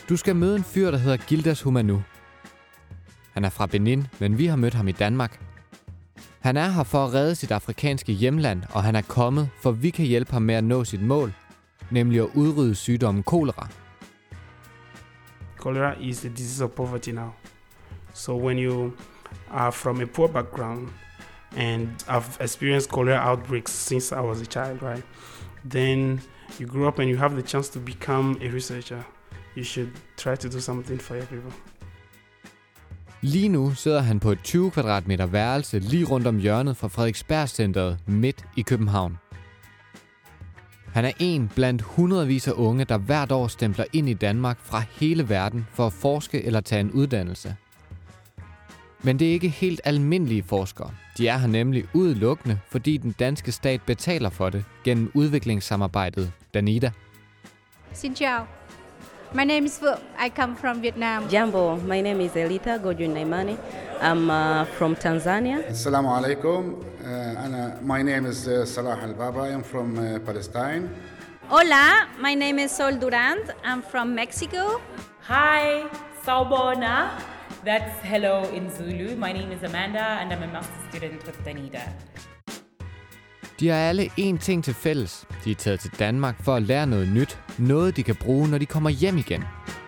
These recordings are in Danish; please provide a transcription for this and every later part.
Du skal møde en fyr, der hedder Gildas Humanu. Han er fra Benin, men vi har mødt ham i Danmark. Han er her for at redde sit afrikanske hjemland, og han er kommet, for vi kan hjælpe ham med at nå sit mål, nemlig at udrydde sygdommen kolera. Cholera is the disease of poverty now. So when you are from a poor background, and I've experienced cholera outbreaks since I was a child, right? Then you grow up and you have the chance to become a researcher. You should try to do something for your people. Lige nu sidder han på et 20 kvadratmeter værelse lige rundt om hjørnet fra Frederiksberg-centret midt i København. Han er en blandt hundredvis af unge, der hvert år stempler ind i Danmark fra hele verden for at forske eller tage en uddannelse. Men det er ikke helt almindelige forskere. De er her nemlig udelukkende, fordi den danske stat betaler for det gennem udviklingssamarbejdet Danida. Xin chào. My name is Phượng. I come from Vietnam. Jambo, my name is Elita Godwin Naimani. I'm from Tanzania. Assalamu alaikum. My name is Salah Al-Baba. I'm from Palestine. Hola, my name is Sol Durand. I'm from Mexico. Hi, Sawubona. That's hello in Zulu. My name is Amanda, and I'm a master's student with Danida. De har alle én ting til fælles. De er taget til Danmark for at lære noget nyt. Noget, de kan bruge, når de kommer hjem igen.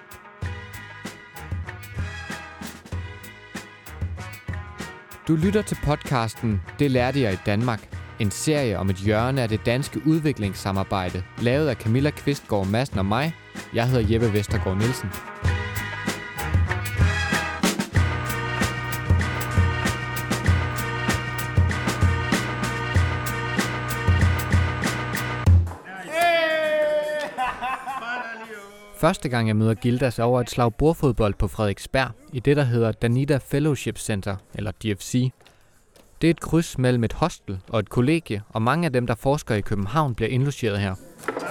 Du lytter til podcasten Det lærte jeg i Danmark. En serie om et hjørne af det danske udviklingssamarbejde, lavet af Camilla Kvistgaard Madsen og mig. Jeg hedder Jeppe Vestergaard Nielsen. Første gang jeg møder Gildas over et slag bordfodbold på Frederiksberg i det, der hedder Danida Fellowship Center, eller DFC. Det er et kryds mellem et hostel og et kollegie, og mange af dem, der forsker i København, bliver indlogeret her.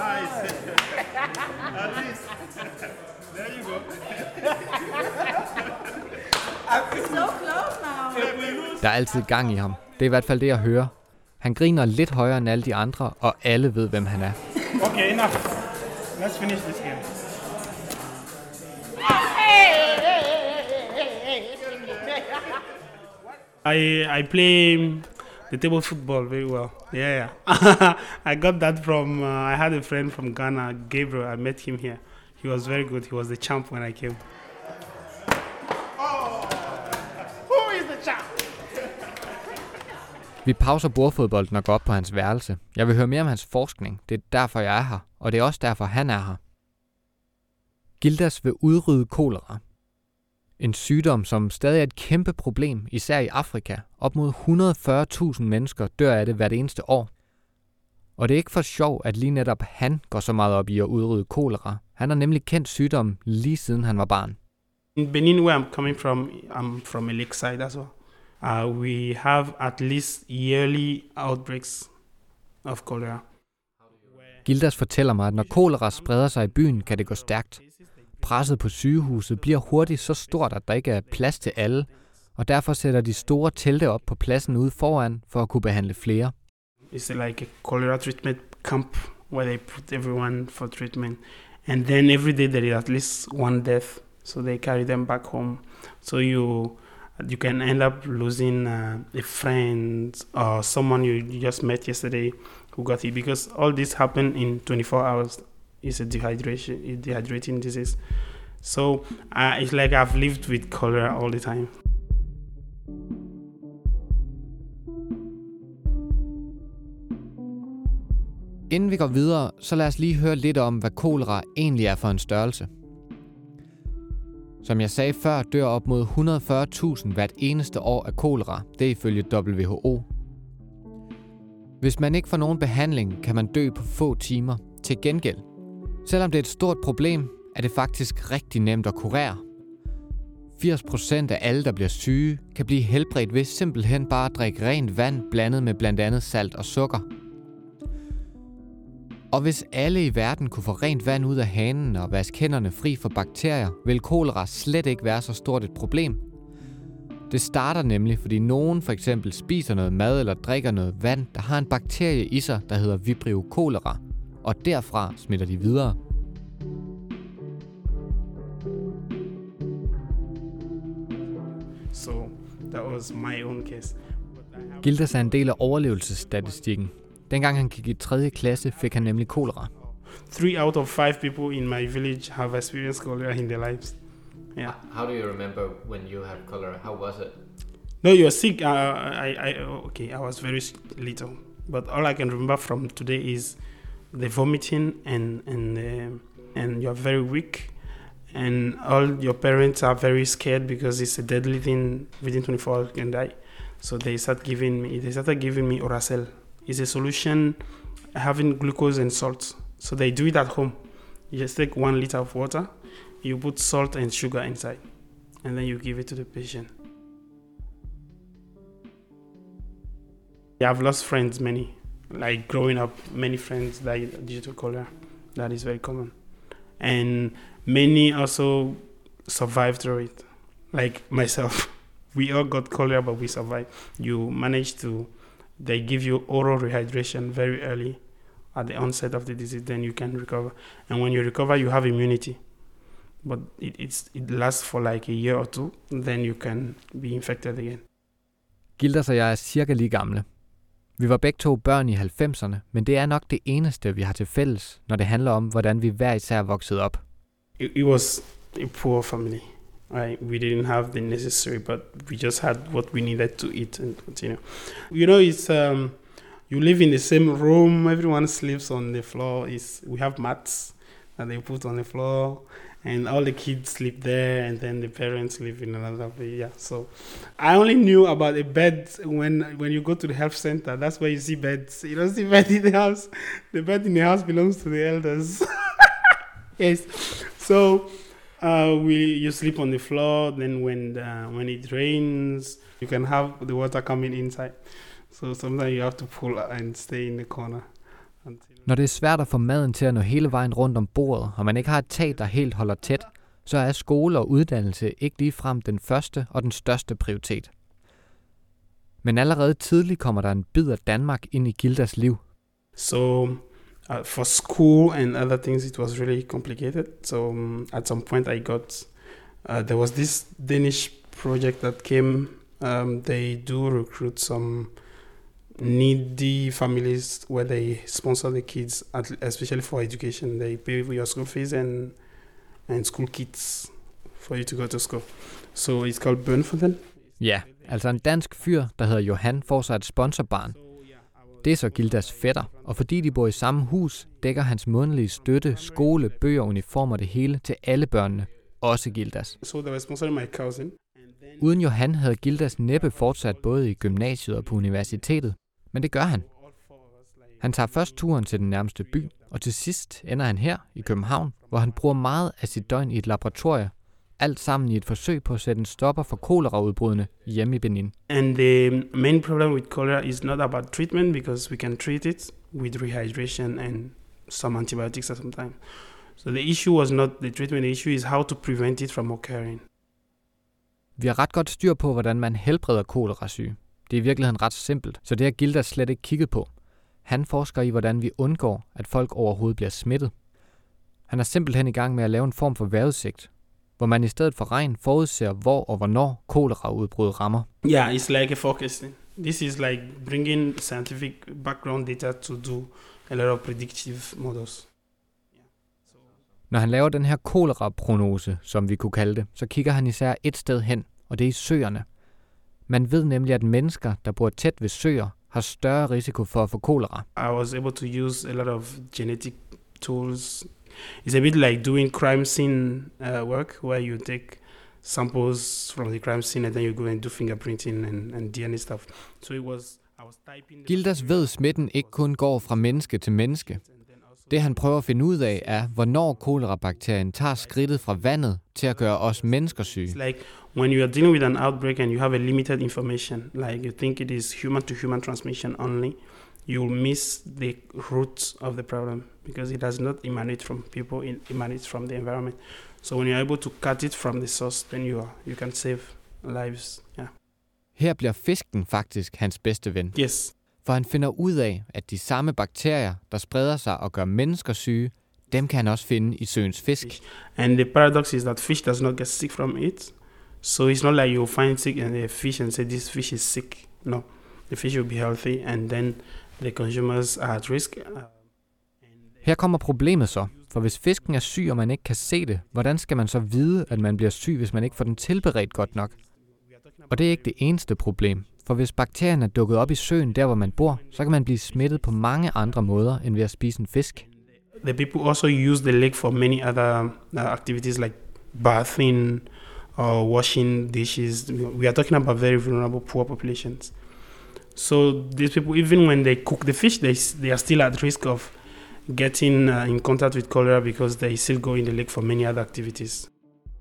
Der er altid gang i ham. Det er i hvert fald det, jeg hører. Han griner lidt højere end alle de andre, og alle ved, hvem han er. Okay, enough. Let's finish this game. I play the table football very well. Yeah. I got that from, I had a friend from Ghana, Gabriel. I met him here. He was very good. He was the champ when I came. Who is the champ? Vi pauser bordfodbolden og går op på hans værelse. Jeg vil høre mere om hans forskning. Det er derfor, jeg er her. Og det er også derfor, han er her. Gildas vil udrydde kolera. En sygdom, som stadig er et kæmpe problem, især i Afrika. Op mod 140.000 mennesker dør af det hvert eneste år. Og det er ikke for sjov, at lige netop han går så meget op i at udrydde kolera. Han har nemlig kendt sygdommen lige siden han var barn. In Benin, where I'm coming from, I'm from a lakeside as well. We have at least yearly outbreaks of cholera. Gildas fortæller mig, at når kolera spreder sig i byen, kan det gå stærkt. Presset på sygehuset bliver hurtigt så stort, at der ikke er plads til alle, og derfor sætter de store telte op på pladsen ude foran for at kunne behandle flere. It's like a cholera treatment camp where they put everyone for treatment, and then every day there is at least one death, so they carry them back home. So you can end up losing a friend or someone you just met yesterday who got it, because all this happened in 24 hours. It's a dehydrating disease. So it's like I've lived with cholera all the time. Inden vi går videre, så lad os lige høre lidt om, hvad kolera egentlig er for en størrelse. Som jeg sagde før, dør op mod 140.000 hvert eneste år af kolera. Det er ifølge WHO. Hvis man ikke får nogen behandling, kan man dø på få timer. Til gengæld, selvom det er et stort problem, er det faktisk rigtig nemt at kurere. 80% af alle, der bliver syge, kan blive helbredt ved simpelthen bare at drikke rent vand blandet med blandt andet salt og sukker. Og hvis alle i verden kunne få rent vand ud af hanen og vaske hænderne fri for bakterier, vil kolera slet ikke være så stort et problem. Det starter nemlig, fordi nogen for eksempel spiser noget mad eller drikker noget vand, der har en bakterie i sig, der hedder Vibrio cholera, og derfra smitter de videre. So that was my own case. Gildas er en del af overlevelsesstatistikken. Dengang han gik i 3. klasse, fik han nemlig kolera. 3 out of 5 people in my village have experienced cholera in their lives. Yeah. How do you remember when you had cholera? How was it? No, you're sick. I was very little, but all I can remember from today is the vomiting and you're very weak, and all your parents are very scared because it's a deadly thing. Within 24 hours you can die. So they started giving me Oracel. It's a solution having glucose and salt. So they do it at home. You just take 1 liter of water, you put salt and sugar inside, and then you give it to the patient. I've lost friends, many. Like growing up, many friends died due to cholera. That is very common. And many also survived through it. Like myself, we all got cholera, but we survived. You manage to, they give you oral rehydration very early at the onset of the disease, then you can recover. And when you recover, you have immunity. But it lasts for like a year or 2, then you can be infected again. Gildas og jeg er cirka lige gamle. Vi var begge 2 børn i 90'erne, men det er nok det eneste, vi har til fælles, når det handler om, hvordan vi hver især voksede op. It was a poor family. Right? We didn't have the necessary, but we just had what we needed to eat and continue. You know, it's you live in the same room. Everyone sleeps on the floor. We have mats that they put on the floor, and all the kids sleep there, and then the parents live in another place. Yeah, so I only knew about a bed when you go to the health center. That's where you see beds. You don't see bed in the house. The bed in the house belongs to the elders. Yes, so you sleep on the floor. Then when it rains, you can have the water coming inside. So sometimes you have to pull and stay in the corner. Når det er svært at få maden til at nå hele vejen rundt om bordet, og man ikke har et tag, der helt holder tæt, så er skole og uddannelse ikke ligefrem den første og den største prioritet. Men allerede tidligt kommer der en bid af Danmark ind i Gildas liv. So for school and other things, it was really complicated. So at some point I got, there was this Danish project that came. They do recruit some needy families where they sponsor the kids, especially for education. They pay for your school fees and school kits for you to go to school. So it's called Burn for them. Ja, altså en dansk fyr, der hedder Johan, får sig et sponsorbarn. Det er så Gildas fætter, og fordi de bor i samme hus, dækker hans månedlige støtte, skole, bøger, uniformer det hele til alle børnene, også Gildas. So they were sponsoring my cousin. Uden Johan havde Gildas næppe fortsat både i gymnasiet og på universitetet, men det gør han. Han tager først turen til den nærmeste by, og til sidst ender han her i København, hvor han bruger meget af sit døgn i et laboratorie, alt sammen i et forsøg på at sætte en stopper for koleraudbrudene hjemme i Benin. And the main problem with cholera is not about treatment, because we can treat it with rehydration and some antibiotics at some time. So the issue was not the treatment, the issue is how to prevent it from occurring. Vi har ret godt styr på, hvordan man helbreder kolerasyge. Det er i virkeligheden ret simpelt, så det har Gildas slet ikke kigget på. Han forsker i, hvordan vi undgår, at folk overhovedet bliver smittet. Han er simpelthen i gang med at lave en form for vejrudsigt, hvor man i stedet for regn forudser, hvor og hvornår koleraudbrud rammer. Yeah, it's like a forecasting. This is like bringing scientific background data to do a lot of predictive models. Når han laver den her koleraprognose, som vi kunne kalde det, så kigger han især et sted hen, og det er i søerne. Man ved nemlig, at mennesker, der bor tæt ved søer, har større risiko for at få kolera. I was able to use a lot of genetic tools. It's a bit like doing crime scene work, where you take samples from the crime scene and then you go and do fingerprinting and DNA stuff. So I was typing. Gildas ved, smitten ikke kun går fra menneske til menneske. Det han prøver at finde ud af er, hvornår kolerabakterien tager skridtet fra vandet til at gøre os mennesker syge. It's like when you are dealing with an outbreak and you have a limited information, like you think it is human-to-human transmission only, you will miss the root of the problem because it does not emanate from people, it emanates from the environment. So when you're able to cut it from the source, then you can save lives. Yeah. Her bliver fisken faktisk hans bedste ven. Yes. For han finder ud af, at de samme bakterier, der spreder sig og gør mennesker syge, dem kan han også finde i søens fisk. And the paradox is that fish does not get sick from it. So it's not like you find sick in a fish and say this fish is sick. No, the fish will be healthy, and then the consumers are at risk. Her kommer problemet så, for hvis fisken er syg, og man ikke kan se det, hvordan skal man så vide, at man bliver syg, hvis man ikke får den tilberedt godt nok? Og det er ikke det eneste problem, for hvis bakterien er dukket op i søen, der hvor man bor, så kan man blive smittet på mange andre måder, end ved at spise en fisk. The people also use the lake for many other activities like bathing or washing dishes. We are talking about very vulnerable, poor populations. So these people, even when they cook the fish, they are still at risk of getting in contact with cholera because they still go in the lake for many other activities.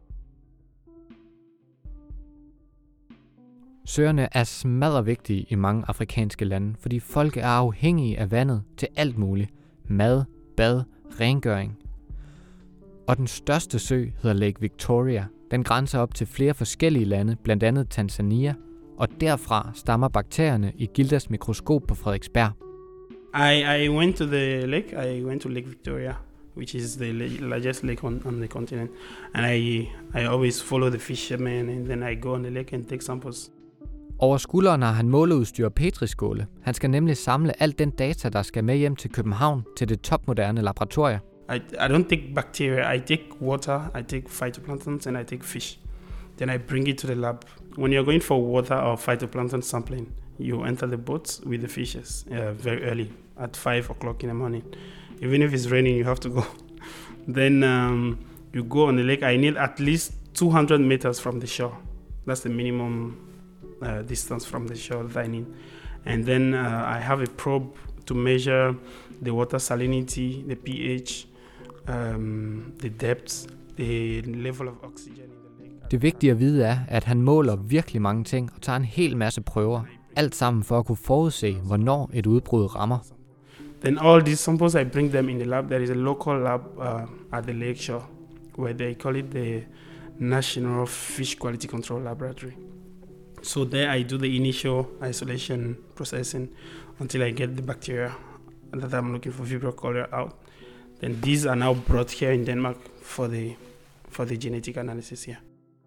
Søerne er smaddervigtige i mange afrikanske lande, fordi folk er afhængige af vandet til alt muligt. Mad, bad, rengøring. Og den største sø hedder Lake Victoria. Den grænser op til flere forskellige lande, blandt andet Tanzania, og derfra stammer bakterierne i Gildas mikroskop på Frederiksberg. I went to the lake. I went to Lake Victoria, which is the largest lake on the continent. And I always follow the fishermen, and then I go on the lake and take samples. Over skulderen har han måleudstyr og petriskåle. Han skal nemlig samle alt den data, der skal med hjem til København til det topmoderne laboratorium. I don't take bacteria. I take water, I take phytoplanktons, and I take fish. Then I bring it to the lab. When you're going for water or phytoplankton sampling, you enter the boats with the fishes very early at 5 o'clock in the morning. Even if it's raining, you have to go. Then you go on the lake. I need at least 200 meters from the shore. That's the minimum distance from the shore that I need. And then I have a probe to measure the water salinity, the pH, the depth, the level of oxygen in the lake. Det vigtige at vide er, at han måler virkelig mange ting og tager en hel masse prøver. Alt sammen for at kunne forudse, hvornår et udbrud rammer. Then all these samples, I bring them in the lab. There is a local lab at the lake shore, where they call it the National Fish Quality Control Laboratory. So there I do the initial isolation processing until I get the bacteria that I'm looking for, Vibrio cholera, out. Then these are now brought here in Denmark for the genetic analysis here.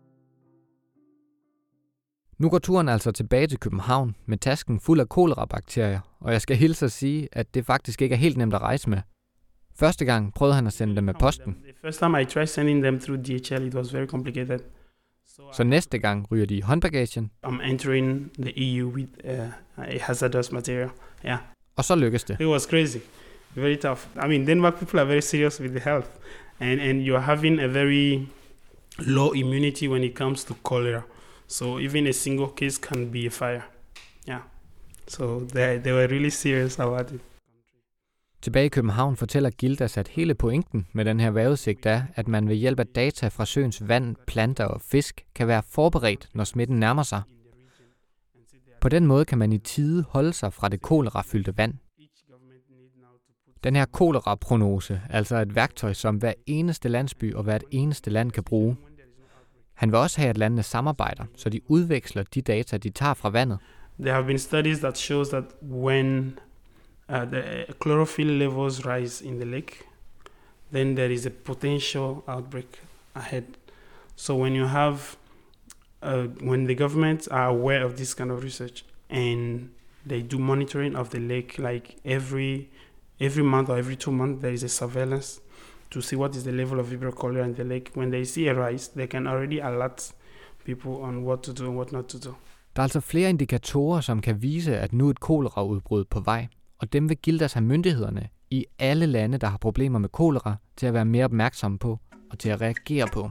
Nu går turen altså tilbage til København med tasken fuld af kolerabakterier, og jeg skal hilse at sige, at det faktisk ikke er helt nemt at rejse med. Første gang prøvede han at sende dem med posten. The first time I tried sending them through DHL, it was very complicated. Så næste gang ryger de i håndbagagen. I'm entering the EU with a hazardous material. Yeah. Og så lykkes det. It was crazy, very tough. I mean, Denmark people are very serious with the health, and you're having a very low immunity when it comes to cholera. So even a single case can be a fire. Yeah. So they were really serious about it. Tilbage i København fortæller Gildas, at hele pointen med den her vejrudsigt er, at man ved hjælp af data fra søens vand, planter og fisk kan være forberedt, når smitten nærmer sig. På den måde kan man i tide holde sig fra det kolerafyldte vand. Den her koleraprognose er altså et værktøj, som hver eneste landsby og hvert eneste land kan bruge. Han vil også have, at landene samarbejder, så de udveksler de data, de tager fra vandet. There have been studies that shows that when the chlorophyll levels rise in the lake, then there is a potential outbreak ahead. So when you have, when the governments are aware of this kind of research and they do monitoring of the lake, like every month or every 2 months, there is a surveillance to see what is the level of Vibrio cholera in the lake. When they see a rise, they can already alert people on what to do and what not to do. Der er altså flere indikatorer, som kan vise, at nu er et koleraudbrud på vej. Og dem vil Gildas have myndighederne i alle lande, der har problemer med kolera, til at være mere opmærksomme på og til at reagere på.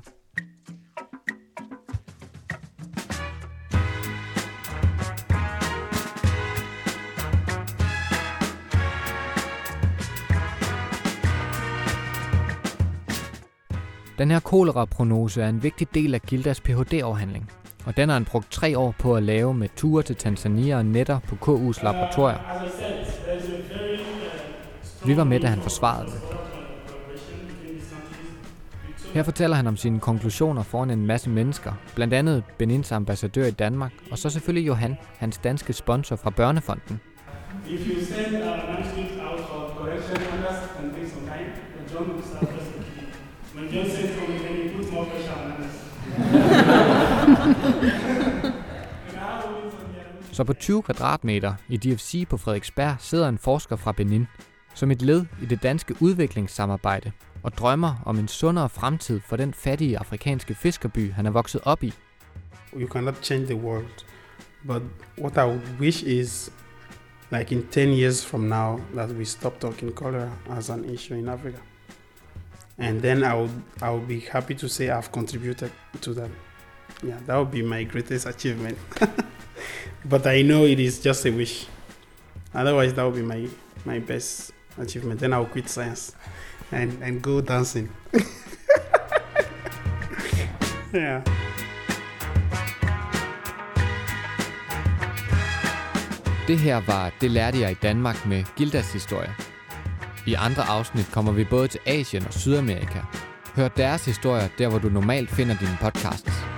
Den her koleraprognose er en vigtig del af Gildas Ph.D.-afhandling, og den har han brugt 3 år på at lave med ture til Tanzania og netter på KU's laboratorier. Vi var med, da han forsvarede det. Her fortæller han om sine konklusioner foran en masse mennesker, blandt andet Benins ambassadør i Danmark, og så selvfølgelig Johan, hans danske sponsor fra Børnefonden. If you send manuscript out for correction, and things some kind, John will start. When John sends something, then he puts more pressure on others. Så på 20 kvadratmeter i DFC på Frederiksberg sidder en forsker fra Benin, som et led i det danske udviklingssamarbejde, og drømmer om en sundere fremtid for den fattige afrikanske fiskerby, han er vokset op i. You cannot change the world, but what I would wish is, like in 10 years from now, that we stop talking cholera as an issue in Africa. And then I would be happy to say I've contributed to that. Yeah, that would be my greatest achievement. But I know it is just a wish. Otherwise, that would be my best achievement. Then I'll quit science and go dancing. Yeah. Det her var Det lærte jeg i Danmark med Gildas historie. I andre afsnit kommer vi både til Asien og Sydamerika. Hør deres historier der, hvor du normalt finder dine podcasts.